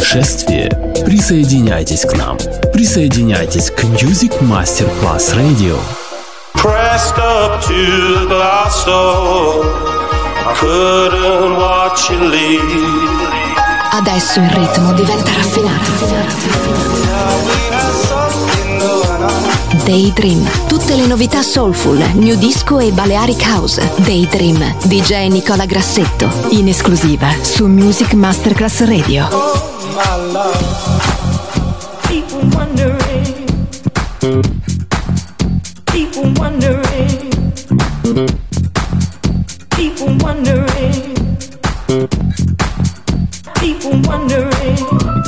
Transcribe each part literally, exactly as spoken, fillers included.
путешествие? Присоединяйтесь к нам. Присоединяйтесь к Music Masterclass Radio. Pressed up to the glass door, I couldn't watch you leave. Adesso il ritmo diventa raffinato. Daydream, tutte le novità soulful, new disco e Balearic House. Daydream, D J Nicola Grassetto, in esclusiva su Music Masterclass Radio. Oh my love, people wondering, people wondering, people wondering, people wondering,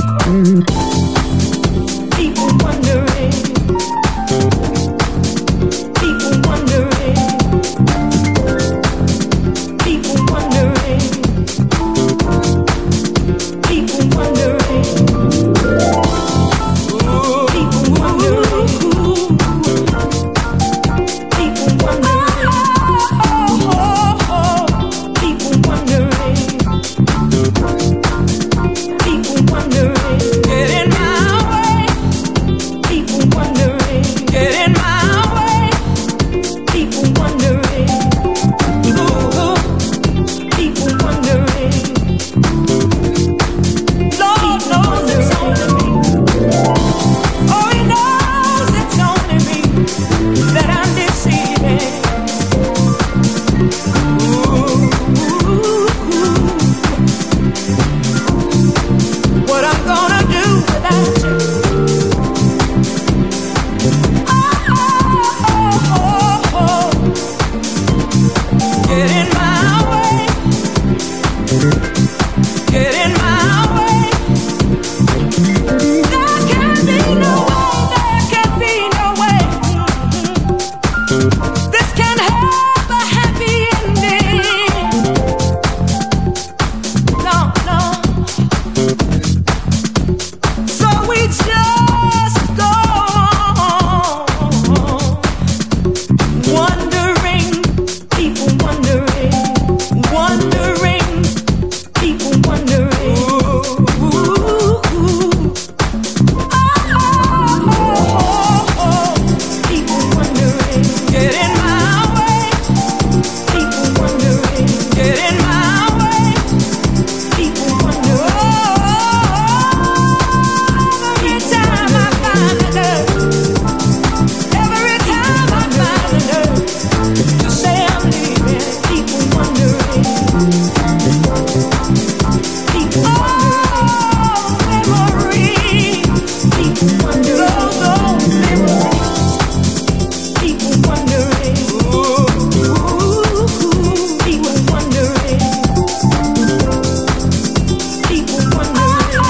people wondering. People wondering, people wondering, people wondering, people wondering, people wondering, people wondering, people wondering, get in my way, people wondering, get in my way. People wondering, ooh, people wondering, Lord knows it's only me. Oh, He knows it's only me that I'm deceiving. Ooh, what I'm gonna do without you? Get in my way. Get in my way. There can be no way. There can be no way. This can have a happy ending. No, no. So we just go on wondering. People wondering, wondering, people wondering. Ooh, ooh, oh, oh, oh, people wondering. Get in my way. People wondering. Get in my way. People wondering. Oh, every time I find a nerve, every time I find a nerve to say I'm leaving. People wondering. People wondering. Memories. People wondering. Those old memories. People wondering. Ooh, people wondering. People wondering.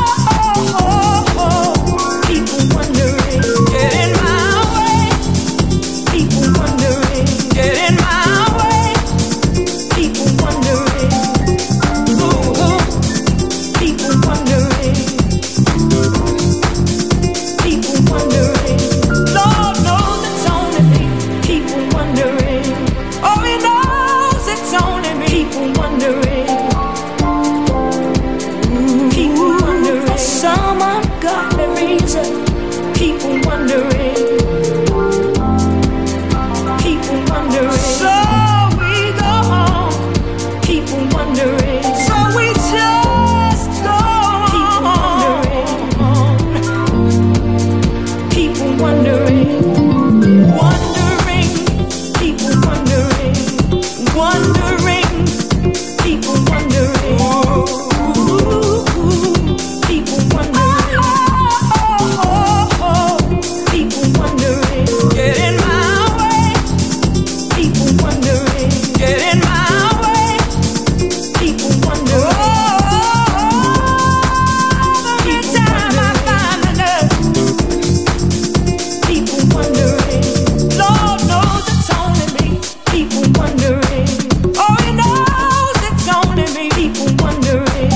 People wondering. Get in my way. People wondering. Get in my way. People wondering. Ooh, people wondering. People wondering. Lord knows it's only me. People wondering. Oh, He knows it's only me. People wondering. Ooh, people wondering. For some ungodly reason. People wondering. People wondering. So we go on. People wondering. So we just go on. People wondering. Wondering. People wondering. Wondering. People wondering. Ooh, people wondering. People wondering. Get in my way. People wondering. Get in my way. People wondering. Every time I find a nerve. People wondering. Lord knows it's only me. People wondering. Oh, He knows it's only me. People wondering.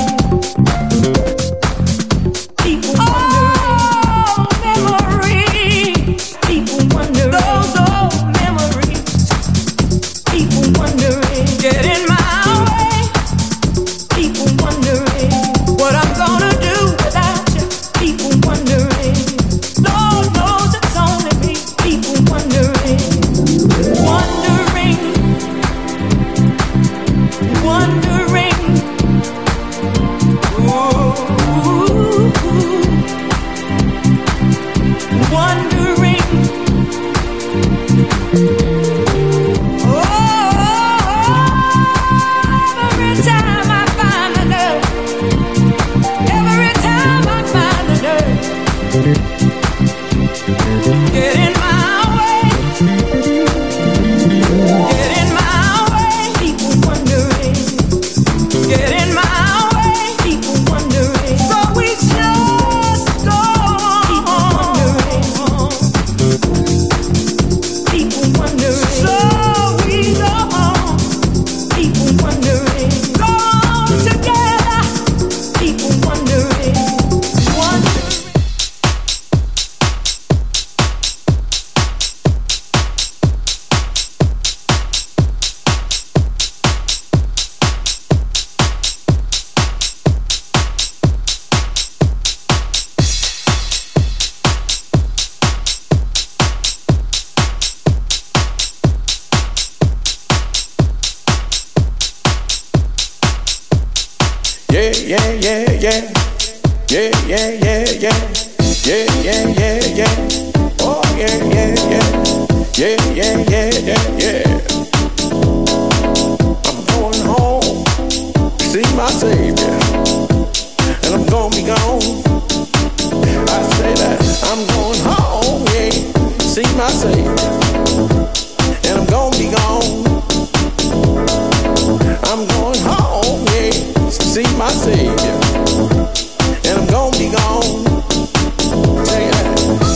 People wondering. Oh, memories. People wondering. Those old memories. People wondering. Get in my way. People wondering what I'm gonna do without Yeah, yeah, yeah, yeah. Yeah, yeah, yeah, yeah. Yeah, yeah, yeah, yeah. Oh, yeah, yeah, yeah. Yeah, yeah, yeah, yeah, yeah. I'm going home to see my Savior, and I'm gonna be gone. I say that I'm going home, yeah, to see my Savior, and I'm gonna be gone. I'm going home, yeah, to see my Savior, and I'm gonna be gone. Say that.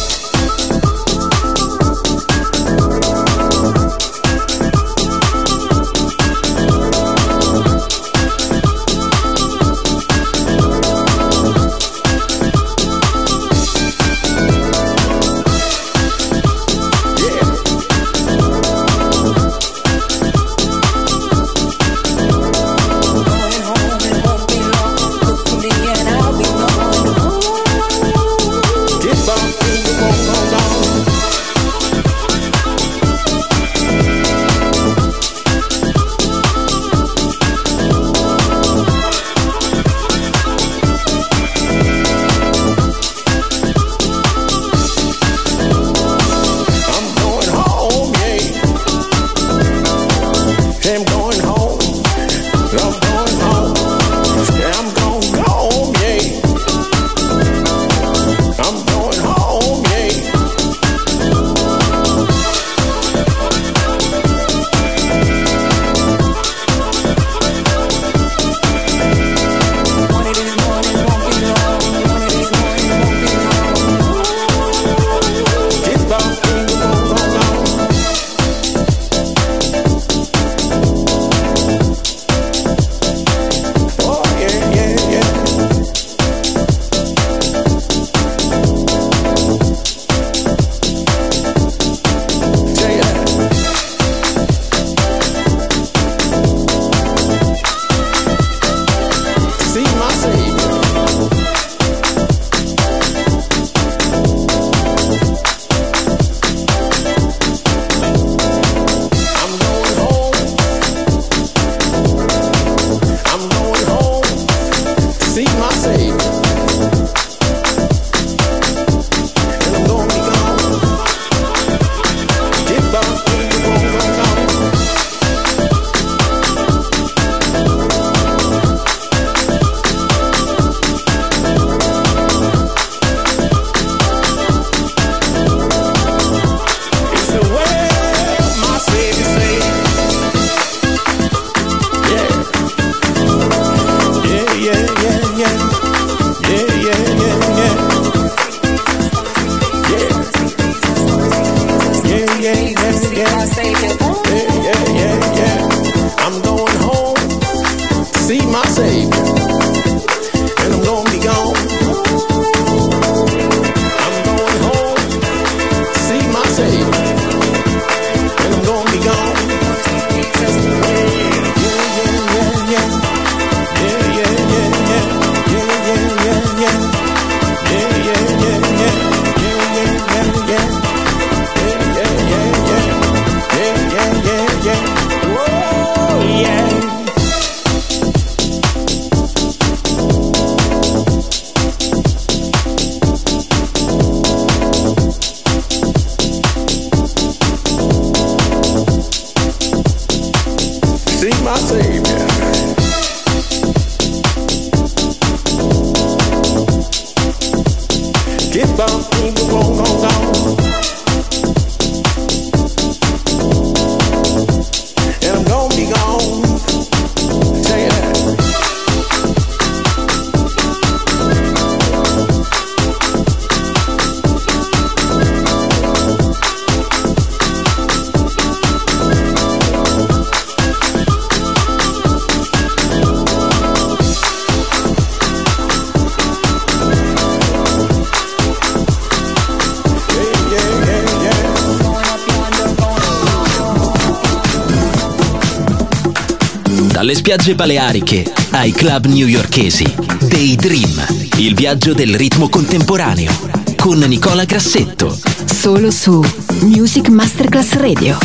Dalle spiagge baleariche ai club newyorkesi. Daydream, il viaggio del ritmo contemporaneo. Con Nicola Grassetto. Solo su Music Masterclass Radio.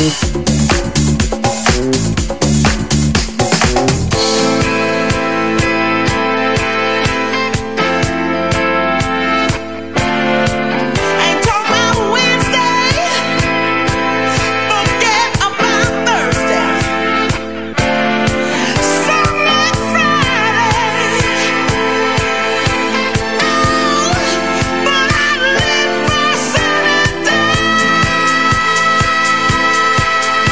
But I live for Saturday.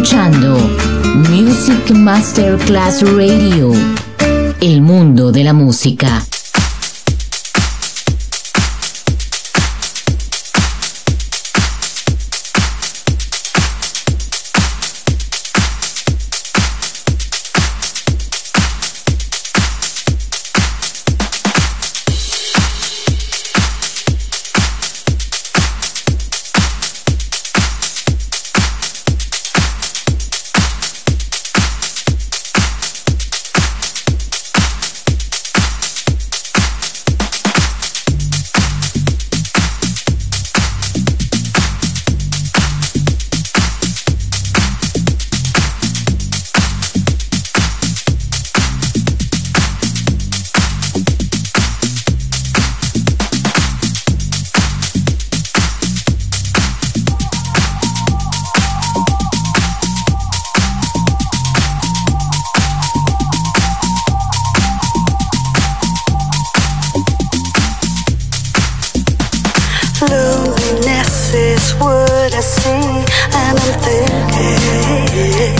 ascoltando Music Masterclass Radio, il mondo della musica. Loneliness is what I see, and I'm thinking,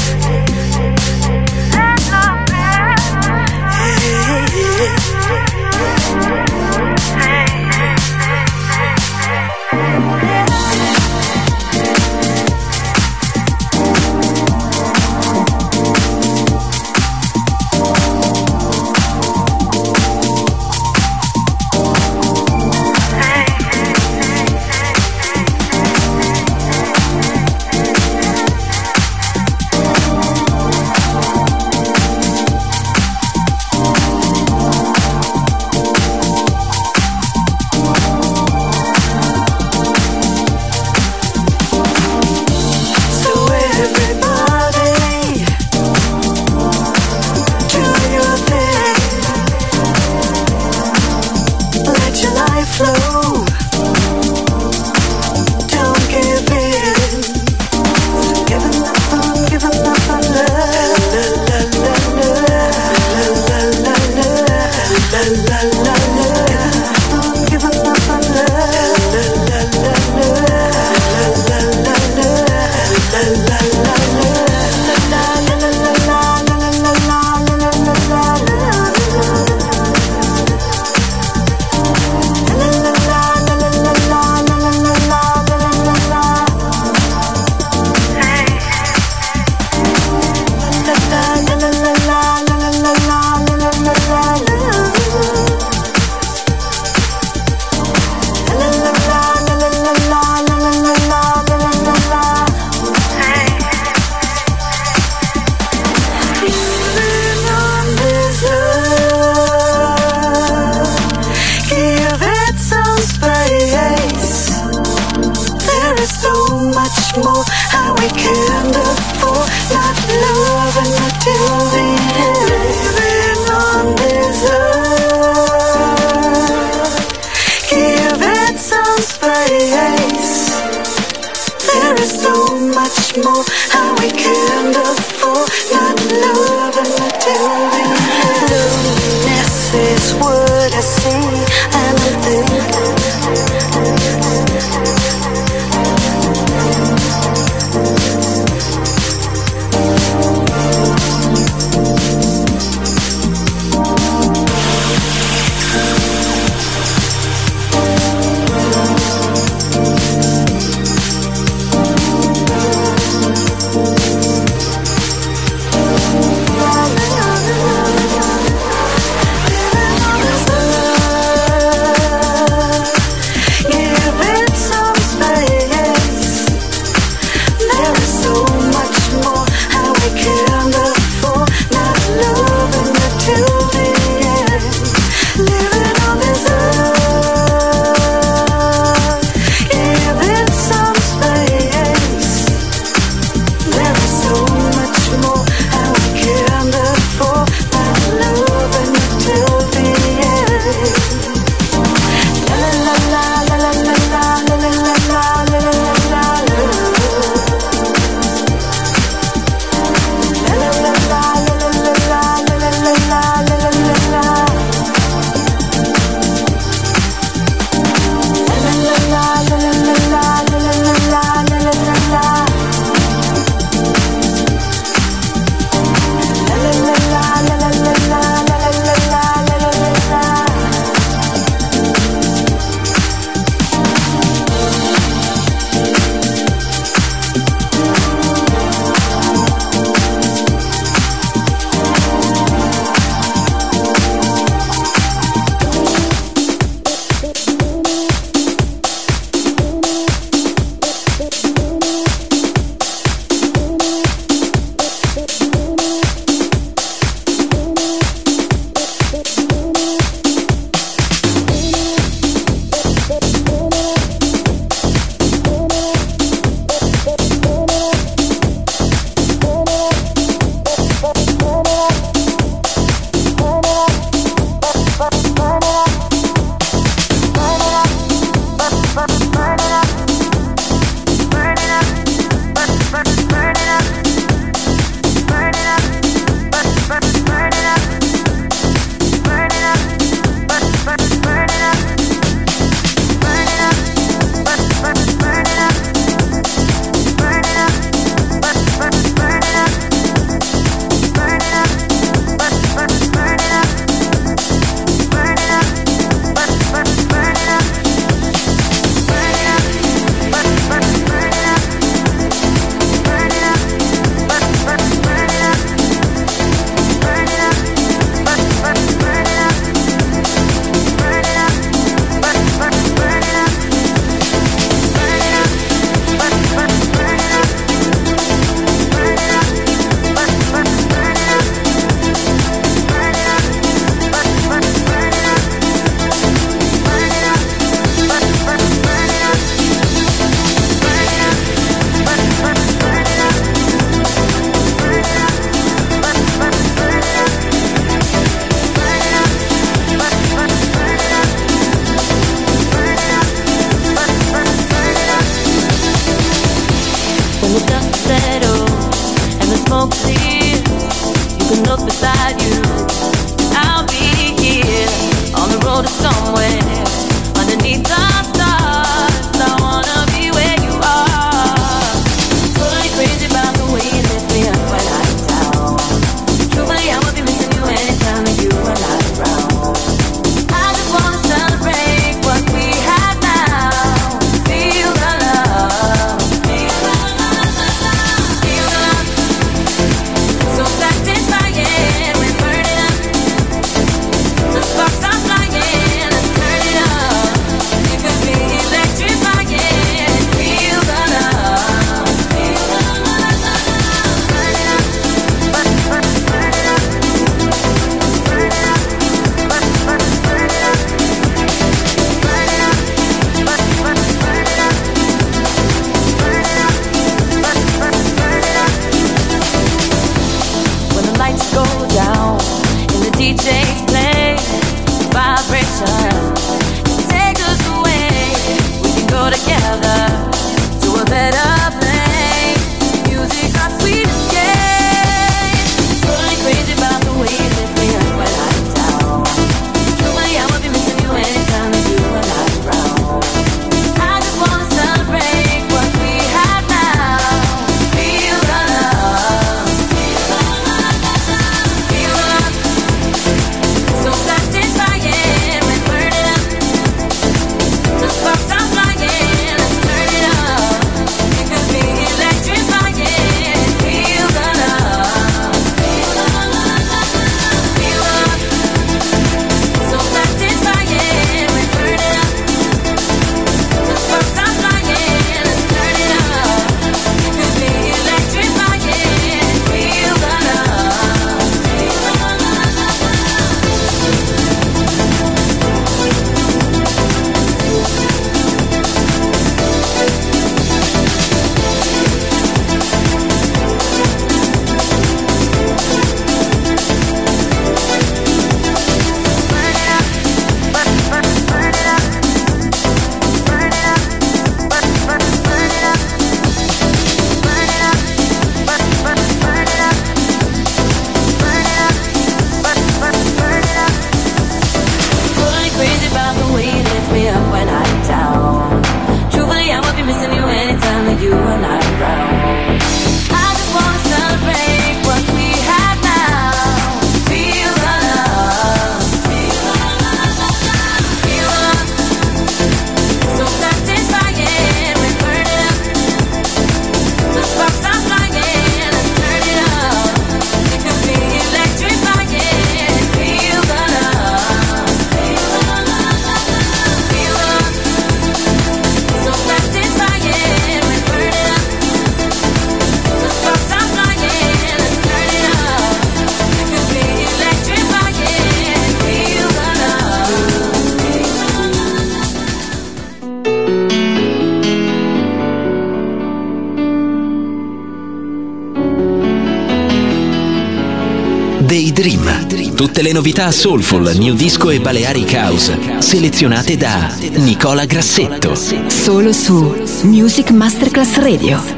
Daydream. Tutte le novità soulful, new disco e Balearic House, selezionate da Nicola Grassetto. Solo su Music Masterclass Radio.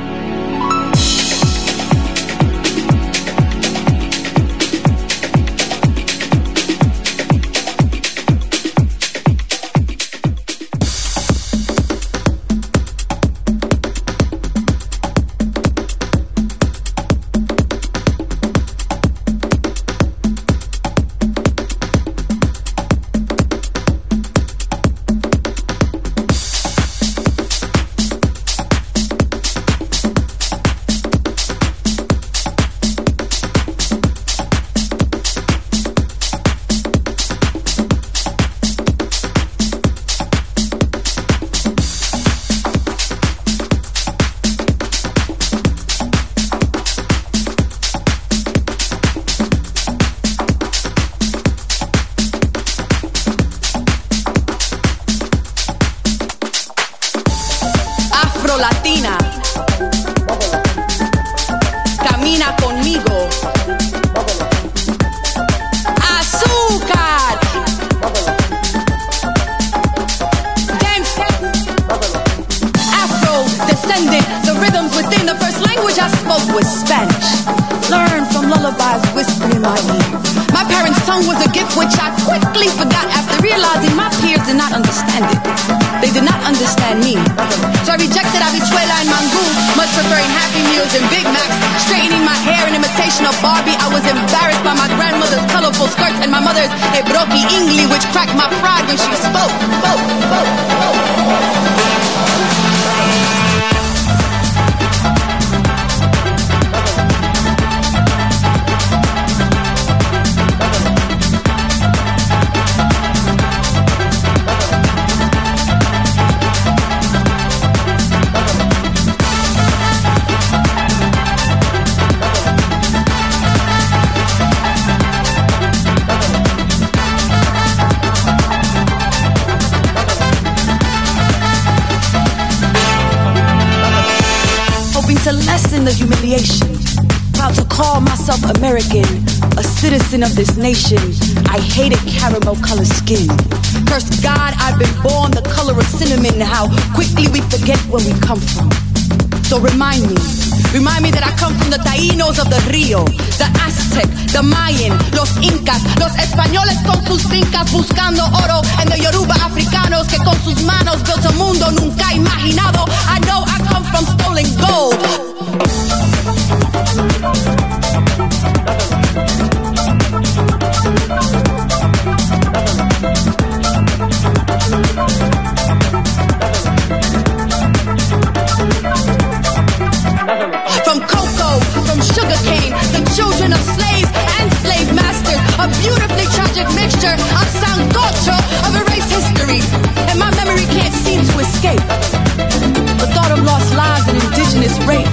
Latina, camina conmigo. Azúcar, dance, Afro descendant. The rhythms within the first language I spoke was Spanish. Learn from lullabies whispering in my ear. My parents' tongue was a gift which I quickly forgot after realizing my peers did not understand it. They did not understand me. So I rejected habichuela and mangú, much preferring Happy Meals and Big Macs. Straightening my hair in imitation of Barbie, I was embarrassed by my grandmother's colorful skirts and my mother's Ebroki English, which cracked my pride when she spoke. spoke, spoke, spoke. To lessen the humiliation, proud to call myself American, a citizen of this nation. I hated caramel colored skin. Curse God, I've been born the color of cinnamon. How quickly we forget where we come from. So remind me, remind me that I come from the Taínos of the Rio, the Aztec, the Mayan, los Incas, los españoles con sus fincas buscando oro, and the Yoruba africanos que con sus manos built a mundo nunca imaginado. I know I come from stolen gold. From cocoa, from sugarcane, the children of slaves and slave masters, a beautifully tragic mixture of sancocho, of erased history, and my memory can't seem to escape the thought of lost lives and indigenous rape.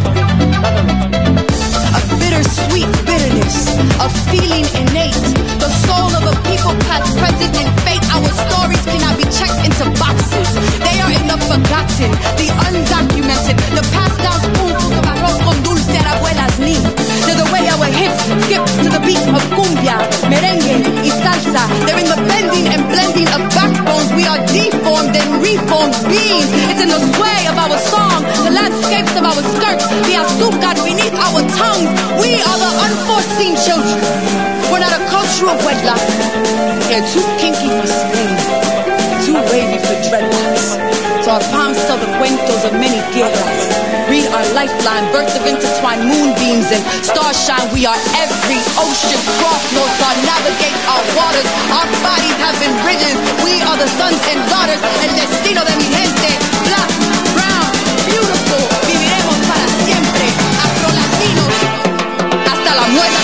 A bittersweet bitterness, a feeling innate, the soul of a people past, present, and fate. Our stories cannot be checked into boxes. They are in the forgotten, the undocumented, the passed down spoonfuls of arroz con dulce at abuela's knee. To the way our hips skip to the beat of cumbia, merengue, y salsa. They're in the bending and blending of backbones. We are deformed and reformed beings. It's in the sway of our song, the landscapes of our skirts, the azúcar beneath our tongues. We are the unforeseen children. We're not a culture of wedlock. They're too kinky for Spain, too wavy for dreadlocks. So our palms tell the cuentos of many guerras. Read our lifeline, birth of intertwined moonbeams and starshine. We are every ocean cross, North Star navigates our waters. Our bodies have been bridges. We are the sons and daughters. El destino de mi gente. Black, brown, beautiful. Viviremos para siempre. Afro-latinos. Hasta la muerte.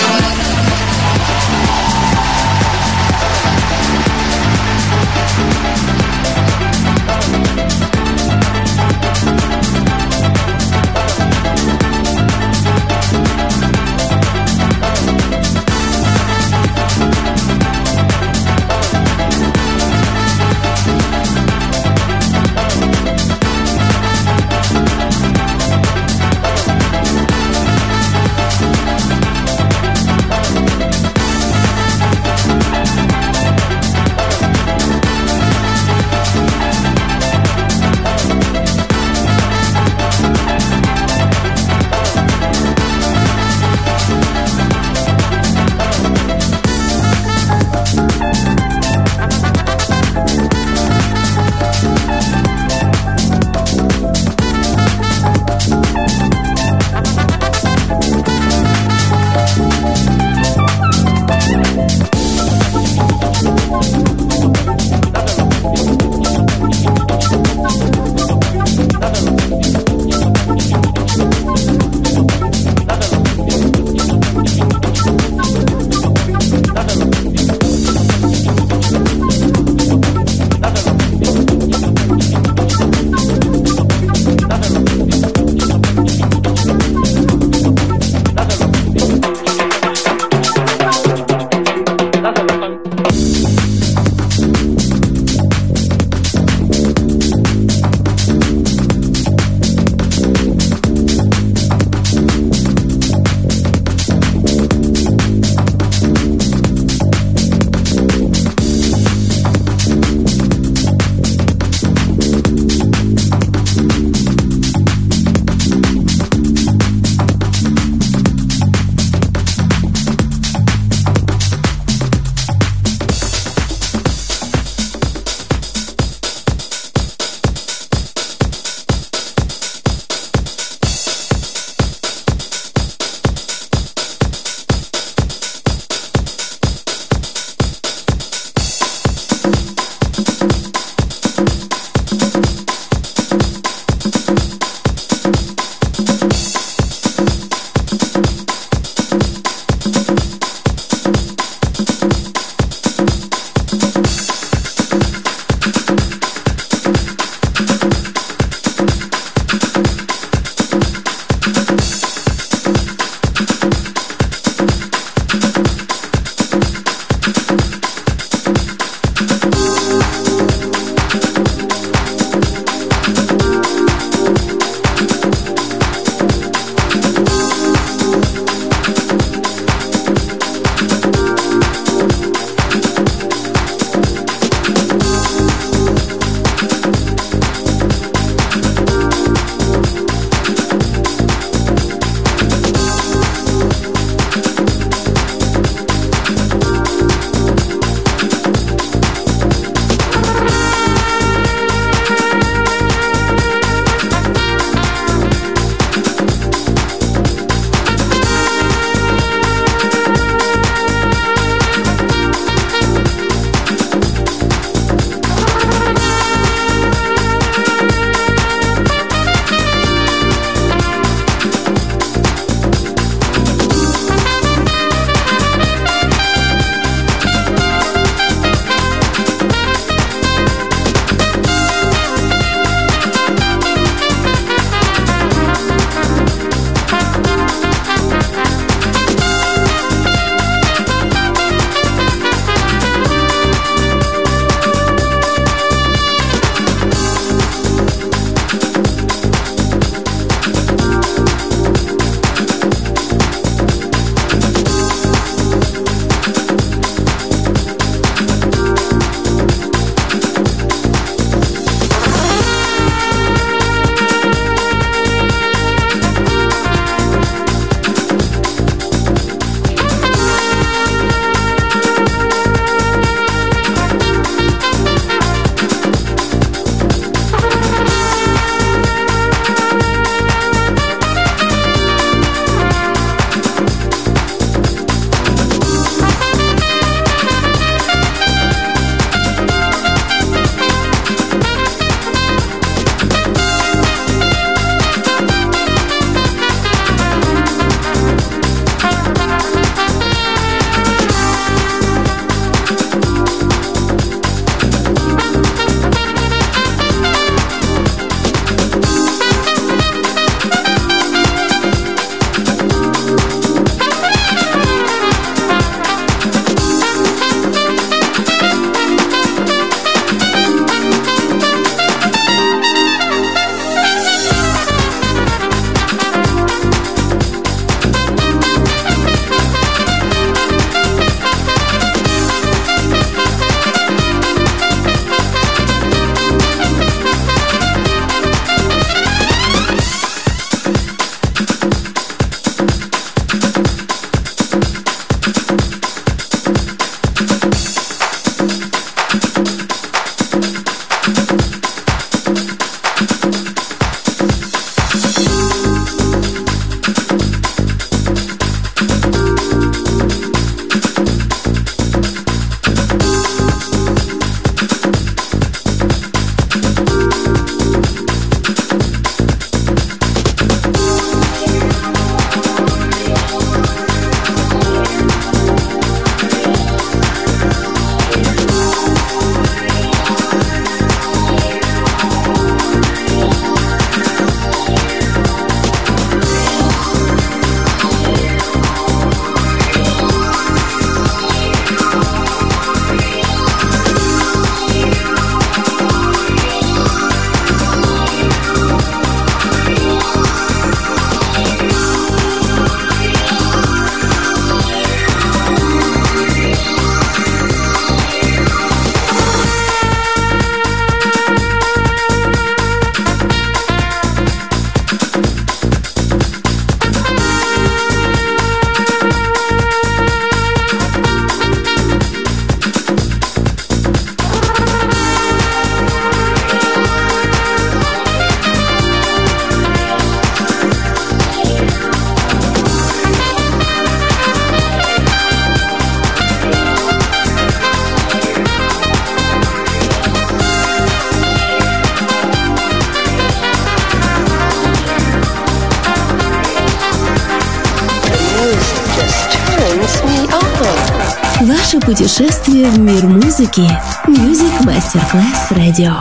Ваше путешествие в мир музыки. Music Masterclass Radio.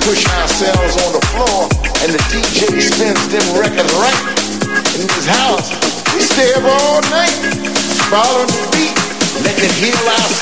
push ourselves on the floor, and the D J spins them records right. In this house, we stay up all night, following the beat, letting it heal our.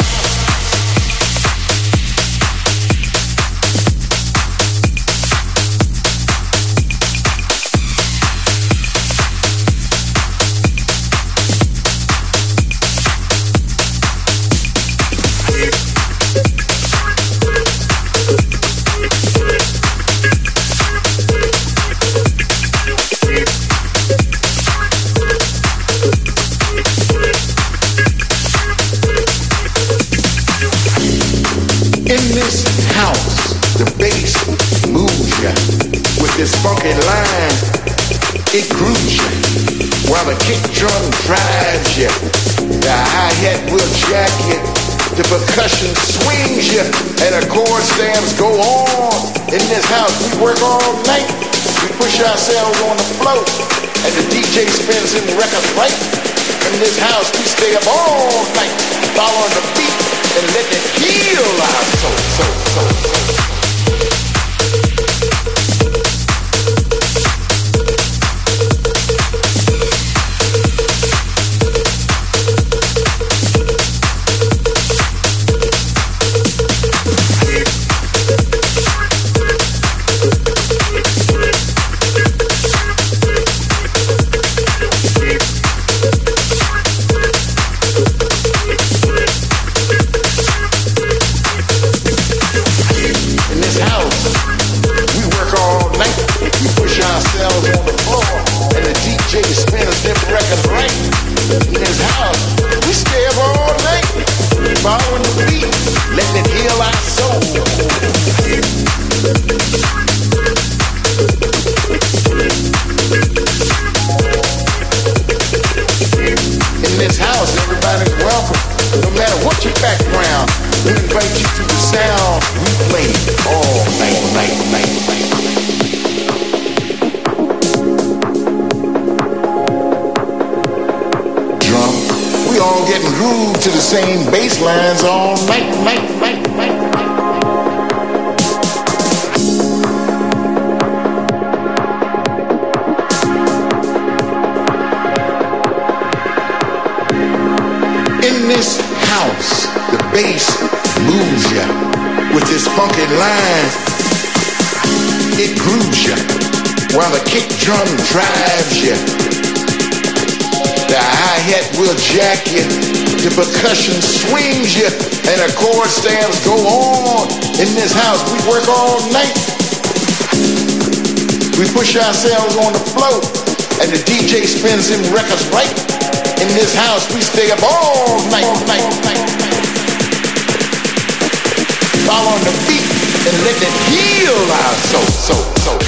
In this house, the bass moves ya with this funky line. It grooves ya while the kick drum drives ya. The hi-hat will jack ya. The percussion swings ya, and the chord stamps go on. In this house, we work all night. We push ourselves on the floor, and the D J spins them records right. In this house, we stay up all night, following the beat and let it heal our soul, soul, soul, soul. To the same bass lines all night, night, night, night, night. In this house, the bass moves ya with this funky line. It grooves ya while the kick drum drives ya. The hi-hat will jack ya. The percussion swings you, and the chord stamps go on. In this house, we work all night. We push ourselves on the floor, and the D J spins them records right. In this house, we stay up all night, all night, all night, all night. Following the beat and let it heal our soul, soul, soul.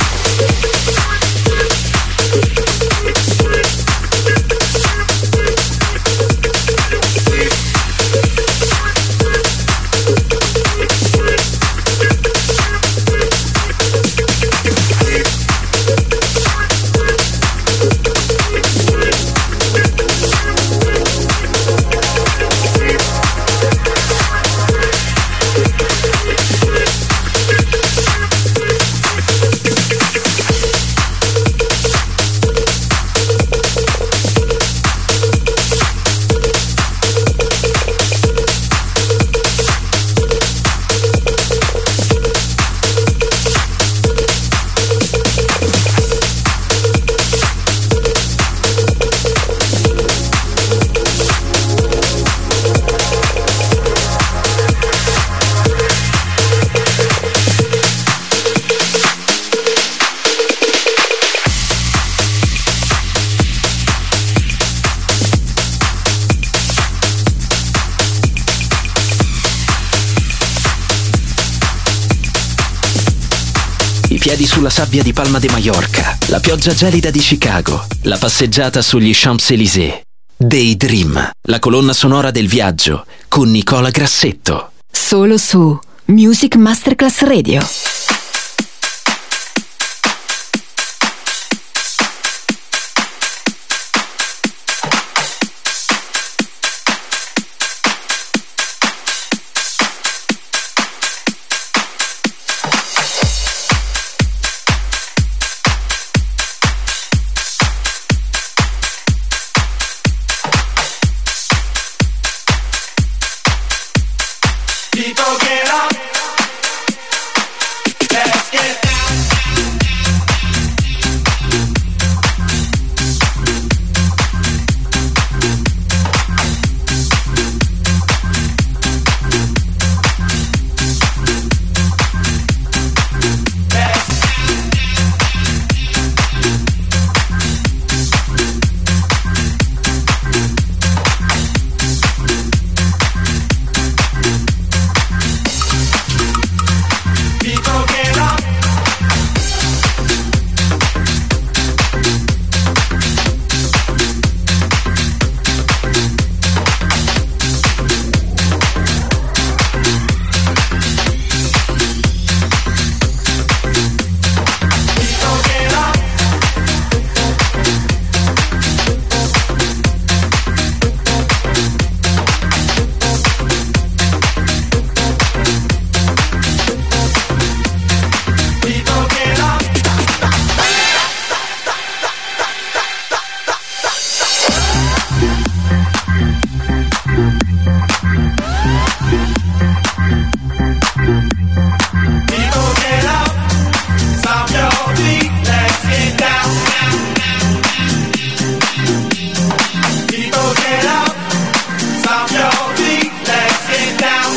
Piedi sulla sabbia di Palma de Mallorca, la pioggia gelida di Chicago, la passeggiata sugli Champs-Élysées. Daydream, la colonna sonora del viaggio con Nicola Grassetto. Solo su Music Masterclass Radio. People get up, stomp your feet, let's get down. People get up, stomp your feet, let's get down.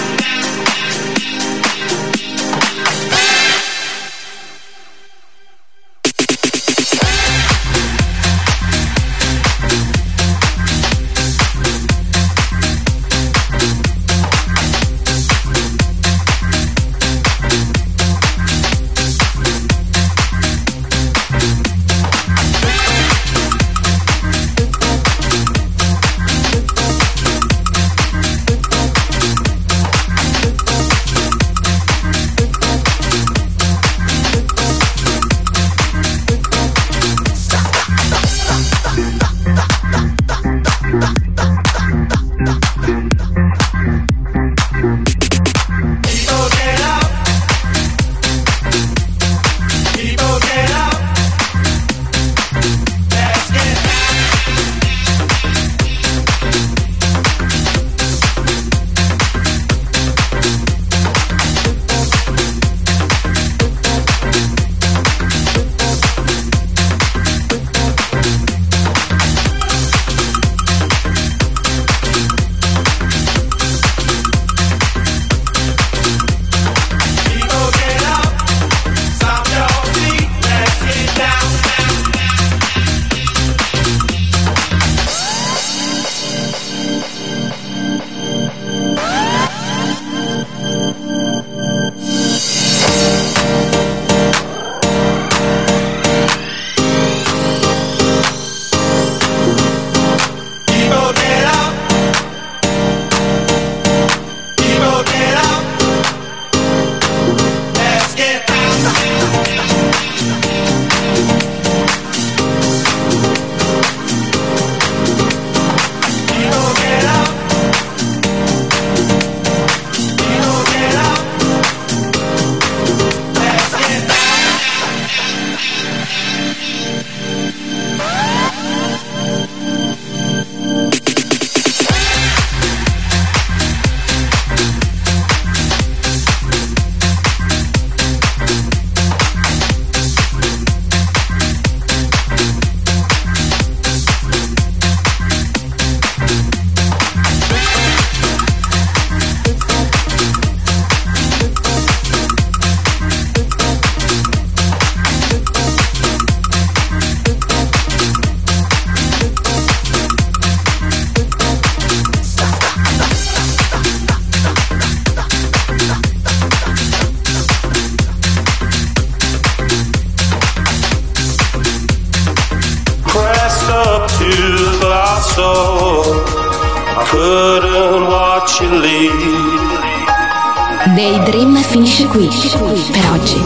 Daydream finisce qui per oggi,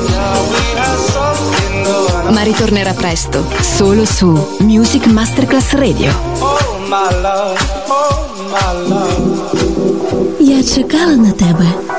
ma ritornerà presto solo su Music Masterclass Radio. Я чекала на тебе.